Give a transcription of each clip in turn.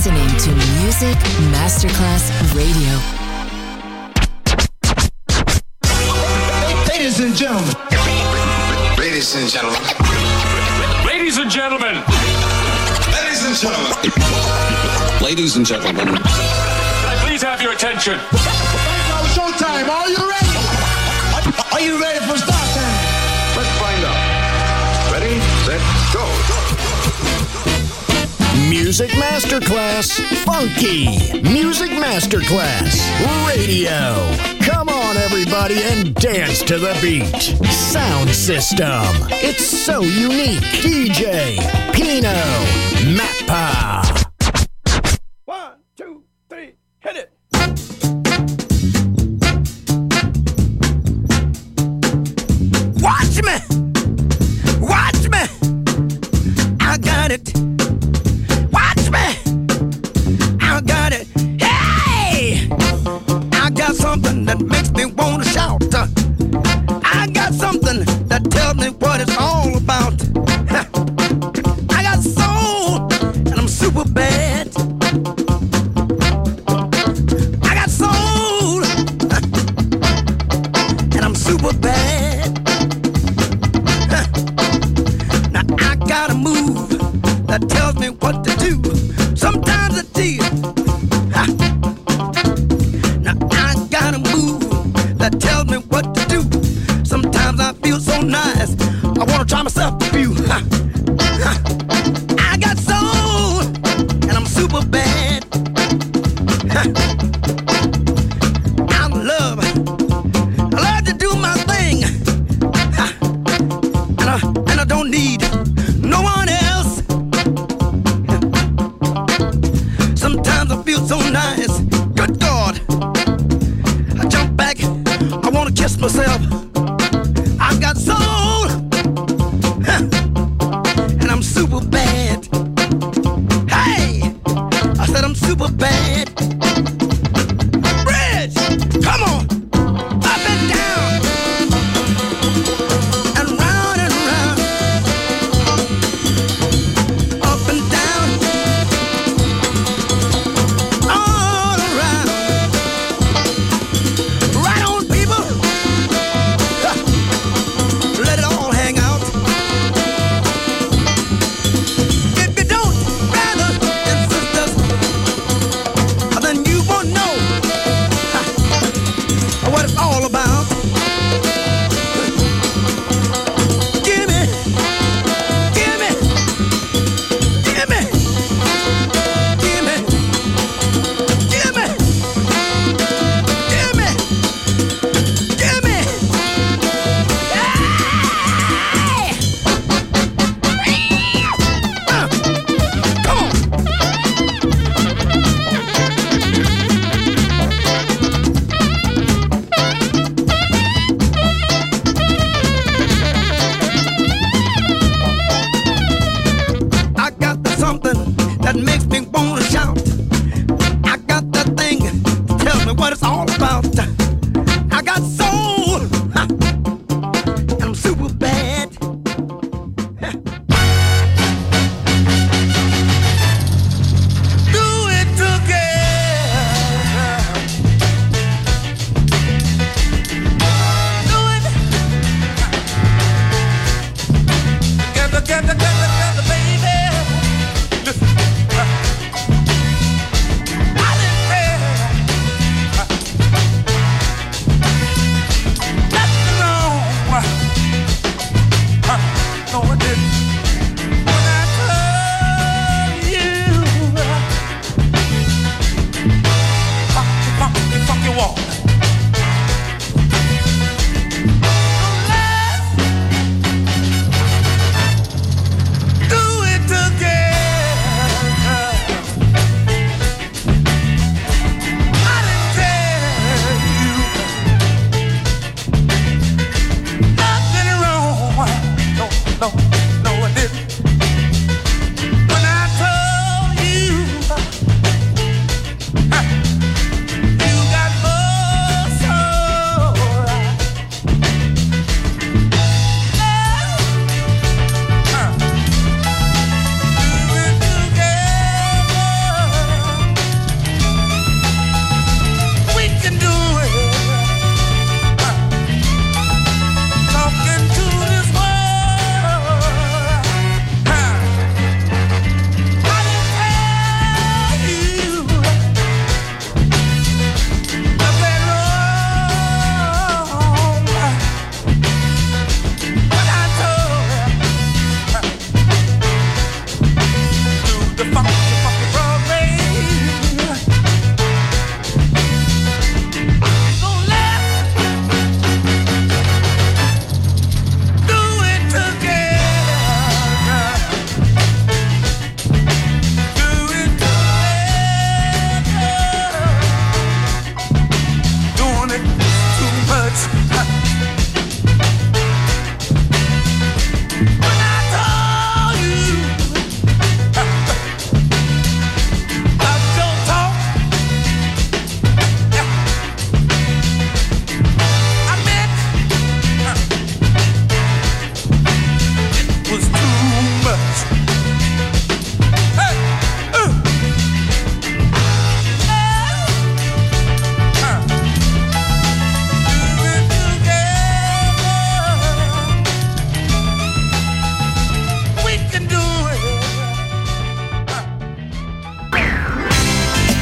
listening to Music Masterclass Radio. Ladies and gentlemen. Ladies and gentlemen. Ladies and gentlemen. Ladies and gentlemen. Ladies and gentlemen. Can I please have your attention? Now showtime. Are you ready? Are you ready for start time? Let's find out. Ready, set, go. Music Masterclass Funky. Music Masterclass Radio. Come on, everybody, and dance to the beat. Sound system. It's so unique. DJ Pino Mappa. 1, 2, 3, hit it. Watch me. Watch me. I got it. Watch me. I got it. Hey! I got something that makes me want to shout. I got something that tells me what it's all about. I got soul, and I'm super bad. I got soul, and I'm super bad. Now I got a move that tells me what to do. Sometimes I tease. Now I got a move that tells me what to do. Sometimes I feel so nice, I wanna try myself a few. I got soul, and I'm super bad. I love to do my thing, and I don't need no one else.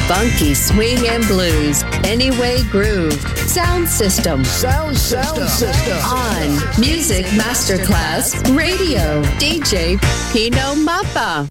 Funky swing and blues. Anyway groove. Sound system. Sound system. On Music Masterclass Radio. DJ Pino Mappa.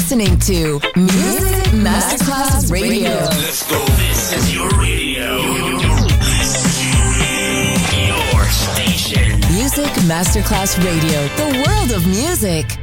listening to Music Masterclass Radio. Let's go. This is your radio. Your station. Music Masterclass Radio. The world of music.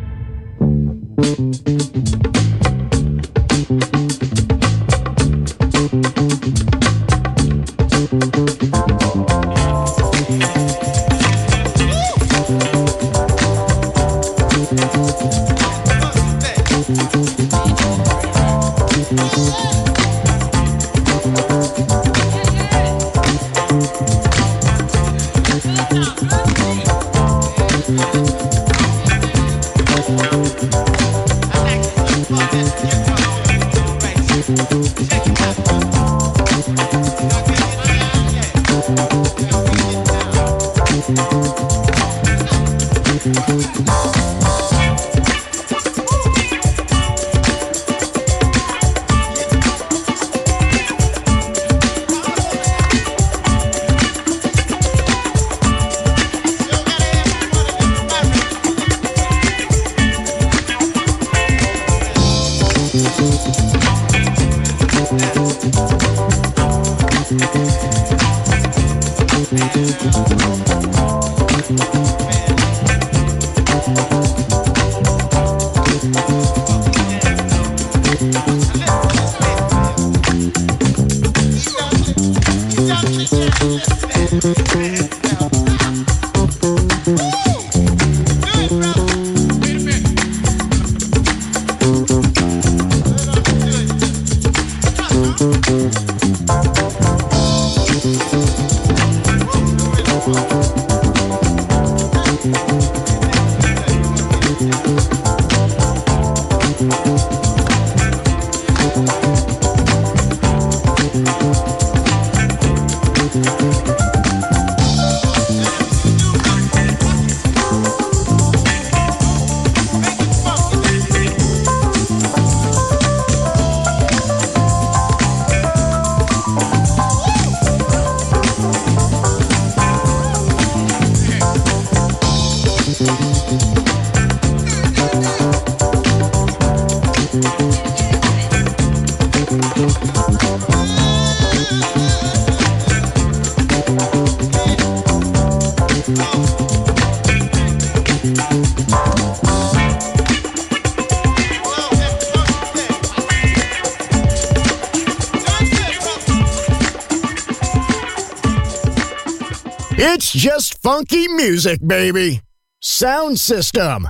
It's just funky music, baby. Sound system,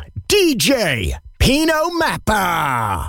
DJ Pino Mappa.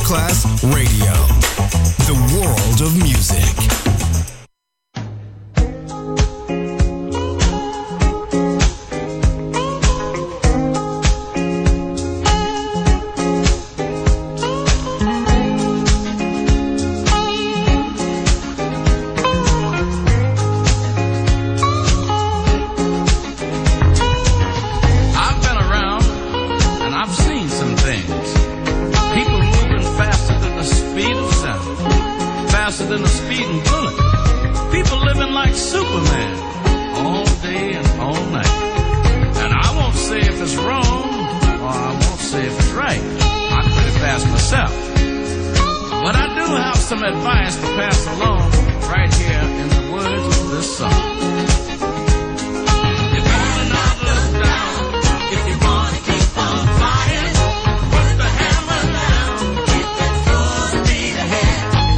Class Radio, the world of music. Than a speeding bullet. People living like Superman all day and all night. And I won't say if it's wrong, or I won't say if it's right. I could have passed myself. But I do have some advice to pass along right here in the words of this song. You better not look down if you want to keep on flying. Put the hammer down, keep it full speed ahead.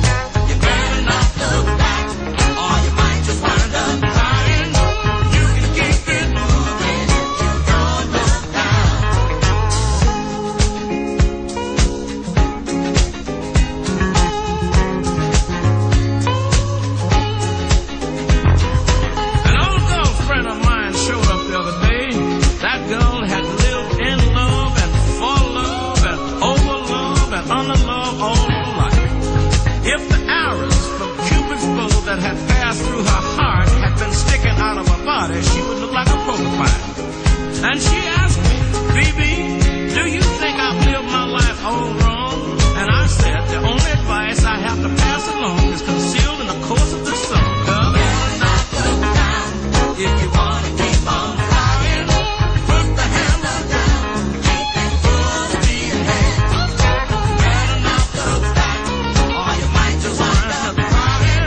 That had passed through her heart had been sticking out of her body, she would look like a porcupine. And she asked me, BB, do you think I've lived my life all wrong? And I said, the only advice I have to pass along is concealed in the course of this song. Girl, better not look down if you want to keep on flying. Put the hammer down, keep it full speed ahead. Better not look back, or you might just wind up crying.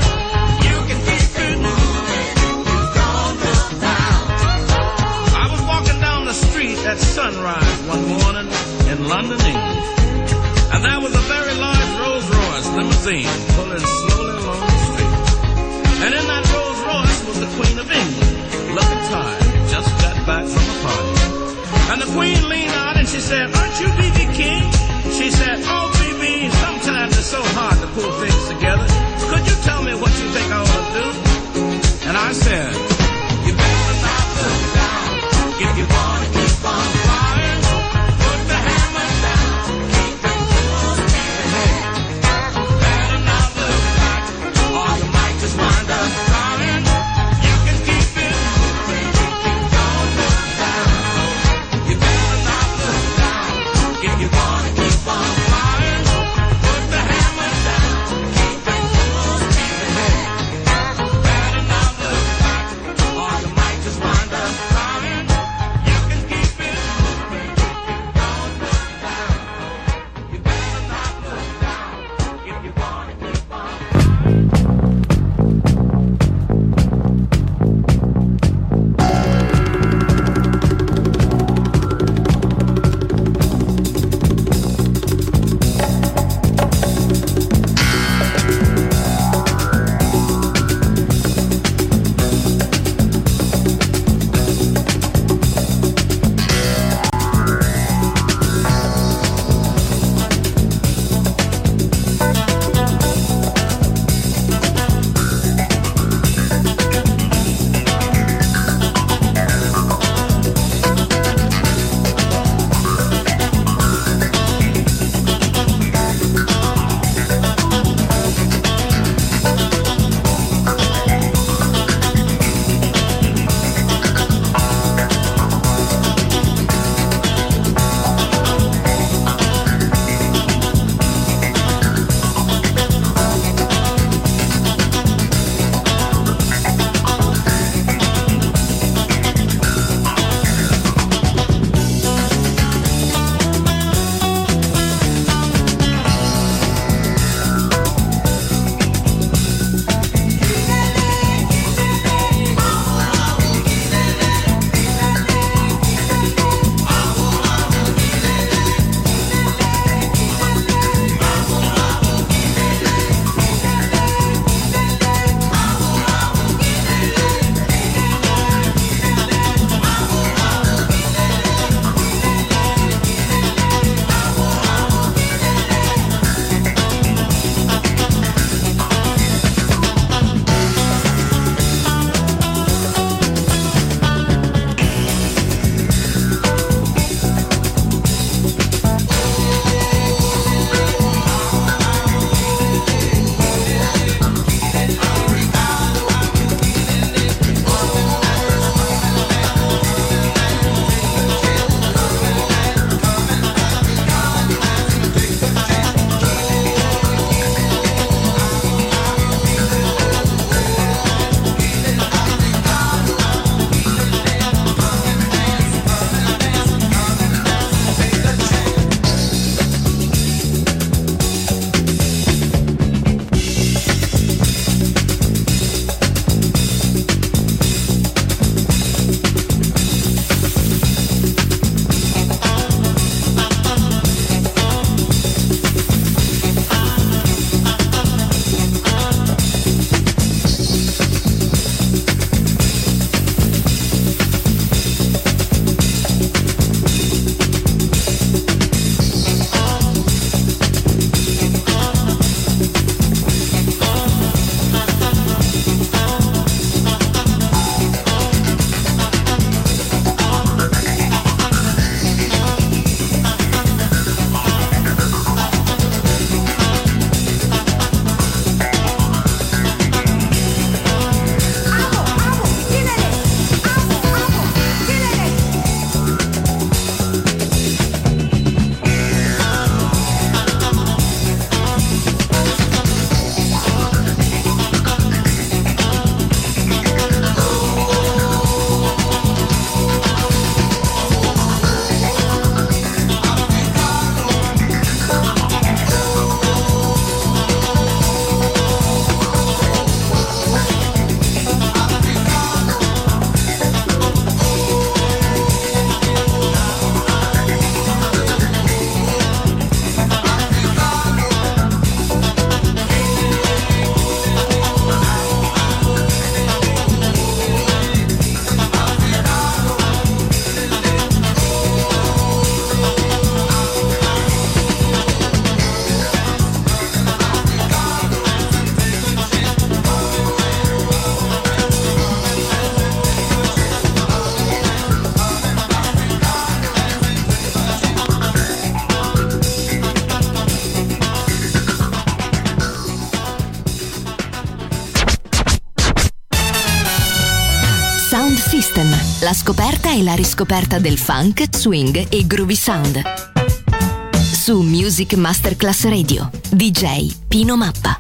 At sunrise one morning in London, England, and there was a very large Rolls-Royce limousine pulling slowly along System, la scoperta e la riscoperta del funk, swing e groovy sound. Su Music Masterclass Radio, DJ Pino Mappa.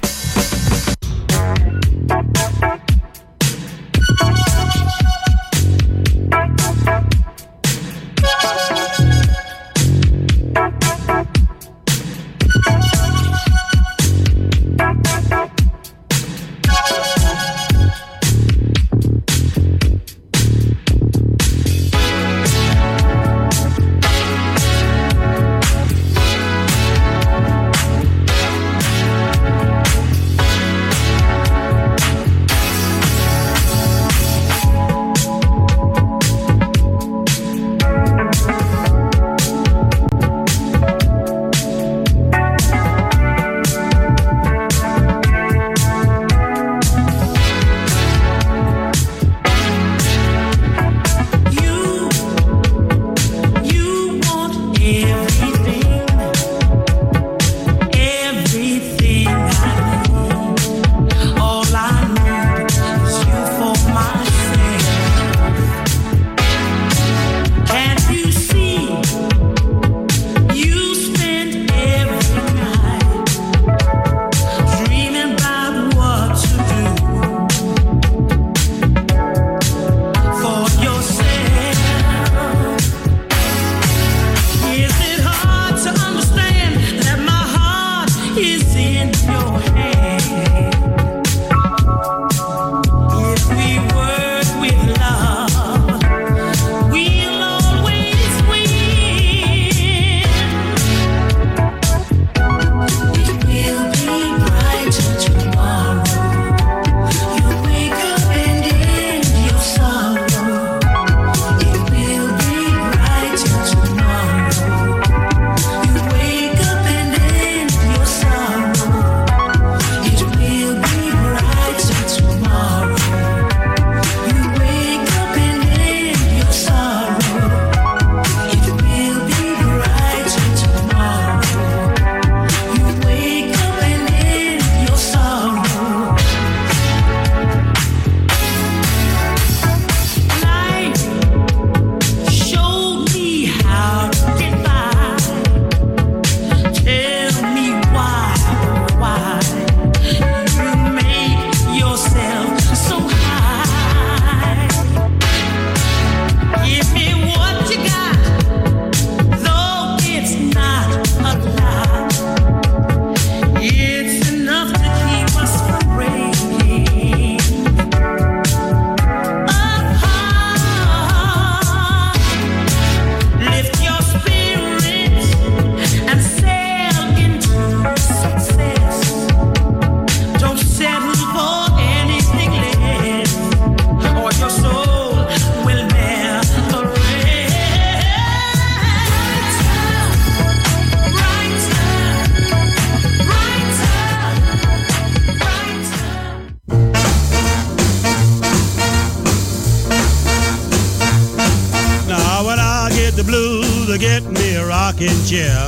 Get me a rocking chair.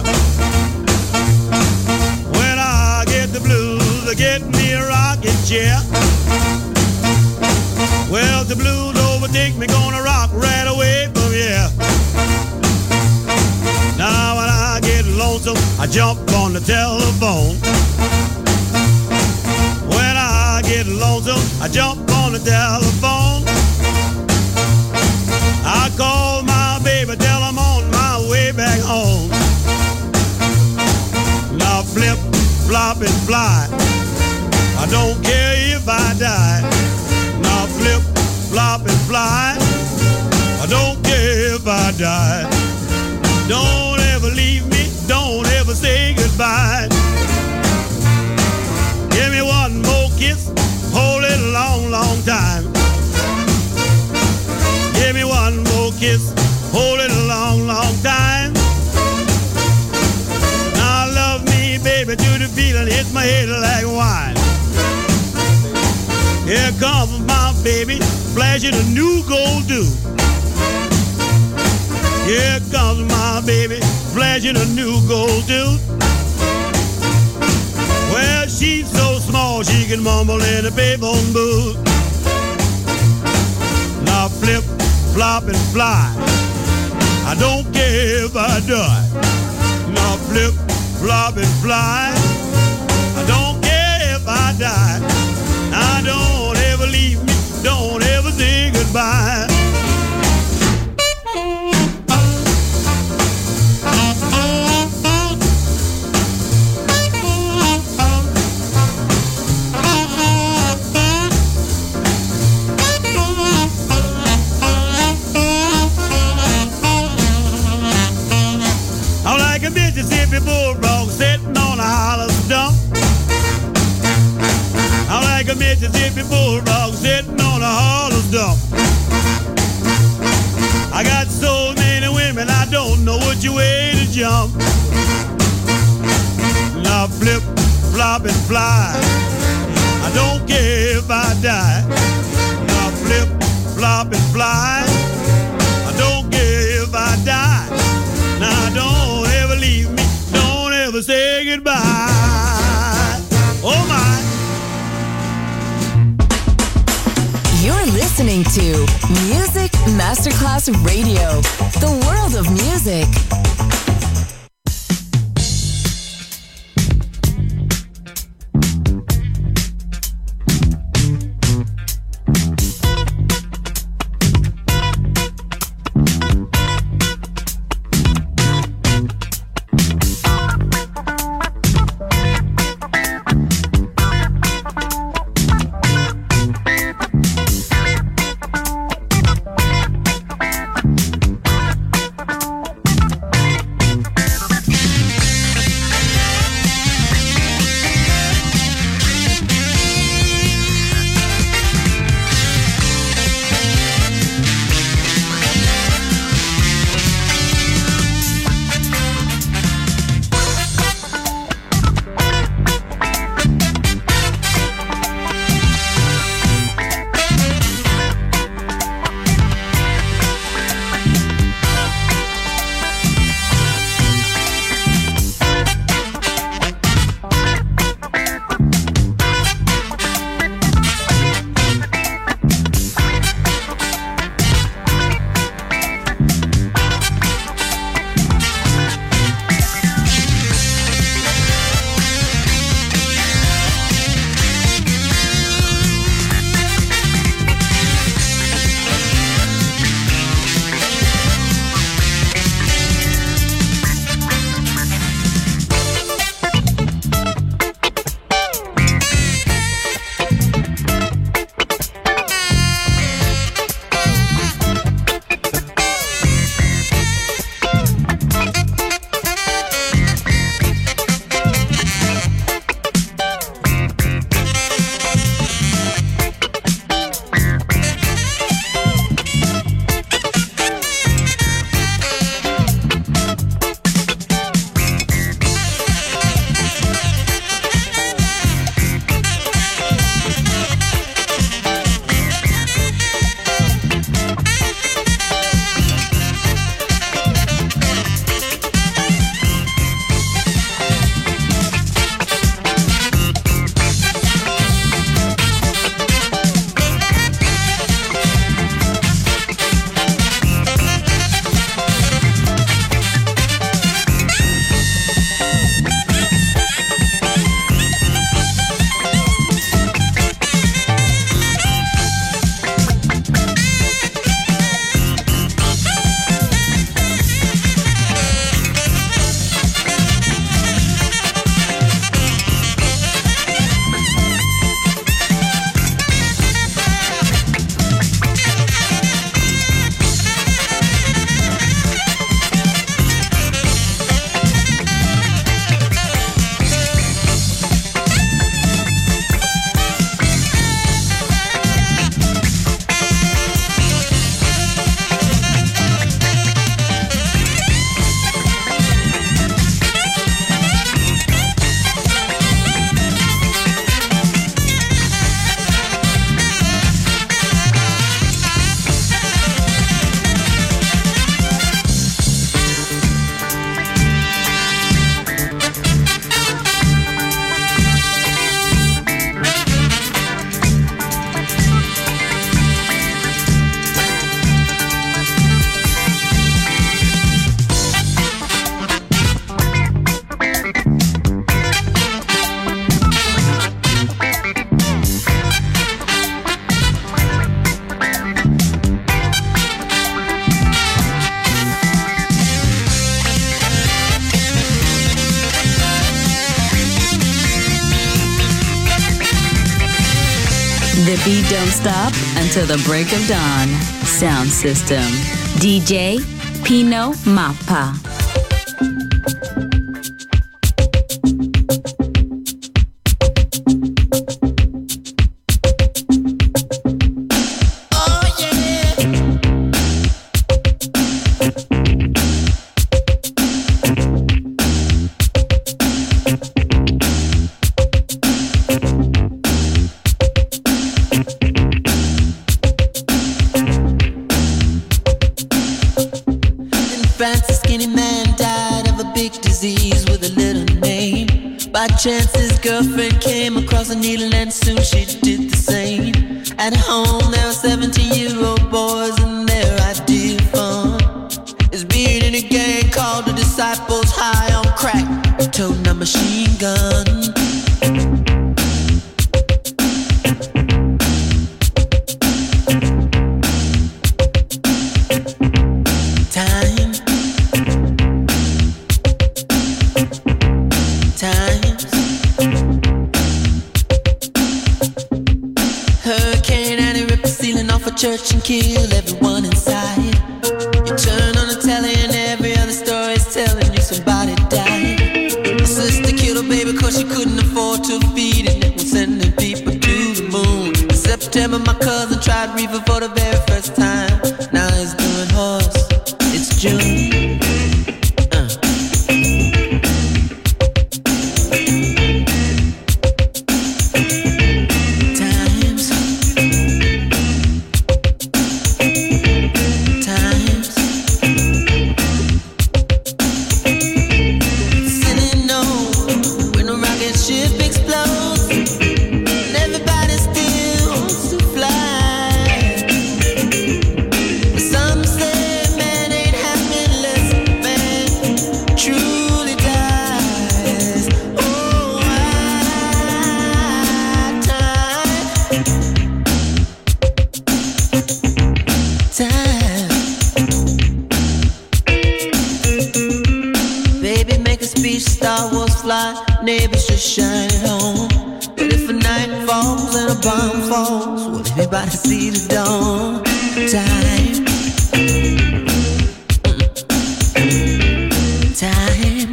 When I get the blues, get me a rocking chair. Well, the blues overtake me, gonna rock right away from here. Now when I get lonesome, I jump on the telephone. When I get lonesome, I jump on the telephone. I call my baby, tell I'm on my way back home. Now flip, flop, and fly. I don't care if I die. Now flip, flop, and fly. I don't care if I die. Don't ever leave me, don't ever say goodbye. Give me one more kiss, hold it a long, long time. Give me one more kiss, hold it a long, long time. Now love me, baby, to the feeling hits my head like wine. Here comes my baby, flashing a new gold dew. Here comes my baby, flashing a new gold dew. Well, she's so small she can mumble in a payphone booth. Now Now flip, flop, and fly. I don't care if I die. Now flip, flop, and fly. I don't care if I die. Now don't ever leave me. Don't ever say goodbye. I'm like a Mississippi bulldog sitting on a hollow stump. I'm like a Mississippi bulldog sitting on a hollow stump. I got so many women, I don't know which way to jump. Now flip, flop, and fly. I don't care if I die. Now flip, flop, and fly. I don't care if I die. Now don't ever leave me. Don't ever say goodbye. Oh my. You're listening to Music Masterclass Radio, the world of music. The beat don't stop until the break of dawn. Sound system. DJ Pino Mappa. Chance his girlfriend came across a needle and soon she did the same. At home there were 17-year-old boys and their idea of fun is being in a gang called the Disciples, high on crack, toting a machine gun. Church and kill everyone inside. You turn on the telly and every other story is telling you somebody died. My sister killed her baby cause she couldn't afford to feed it and was sending people to the moon. In September my cousin tried reefer for the very first time. Now he's doing horse. It's June. Neighbors just shine it on. But if a night falls and a bomb falls, will everybody see the dawn? Time. Time.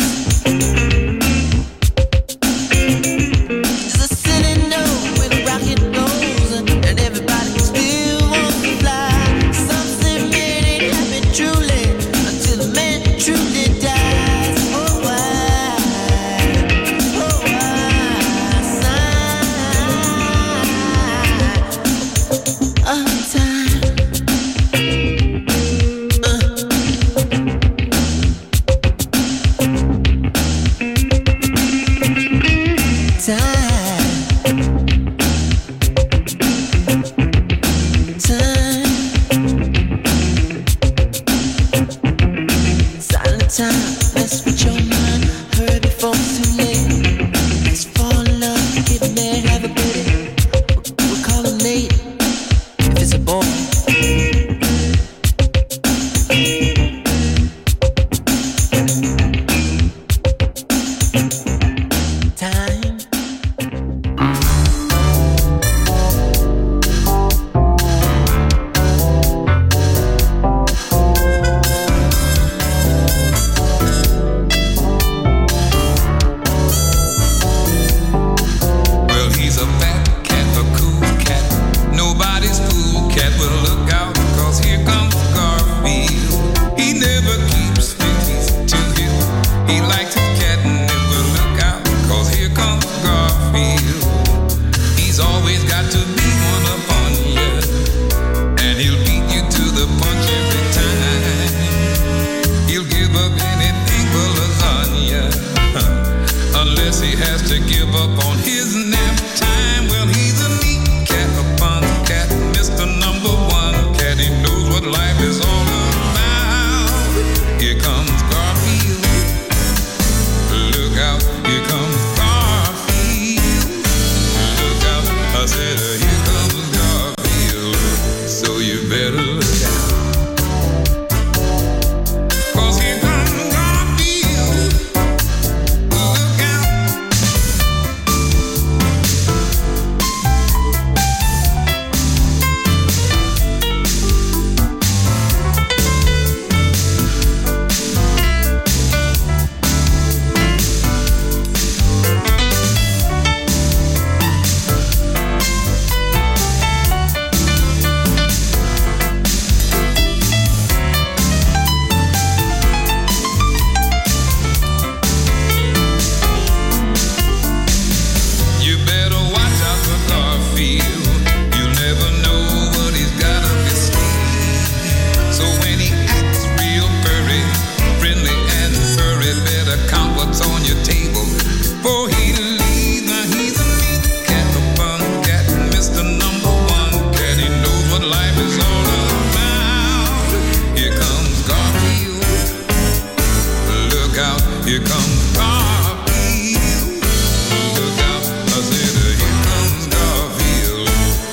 Just a silly note with a rocket goes and everybody still wants to fly. Something man ain't happy truly until the man truly dies. Oh, why?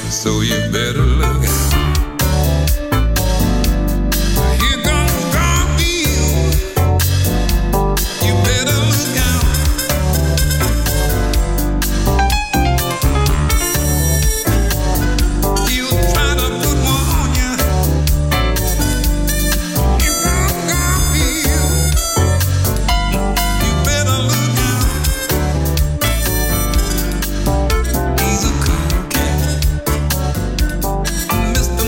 so you better look out. Here comes Garfield, you better look out. He'll try to put one on you. Here comes Garfield, you better look out. He's a cool cat, Mr.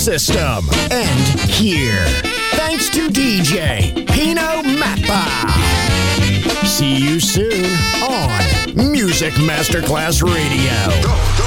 system end here. Thanks to DJ Pino Mappa. See you soon on Music Masterclass Radio.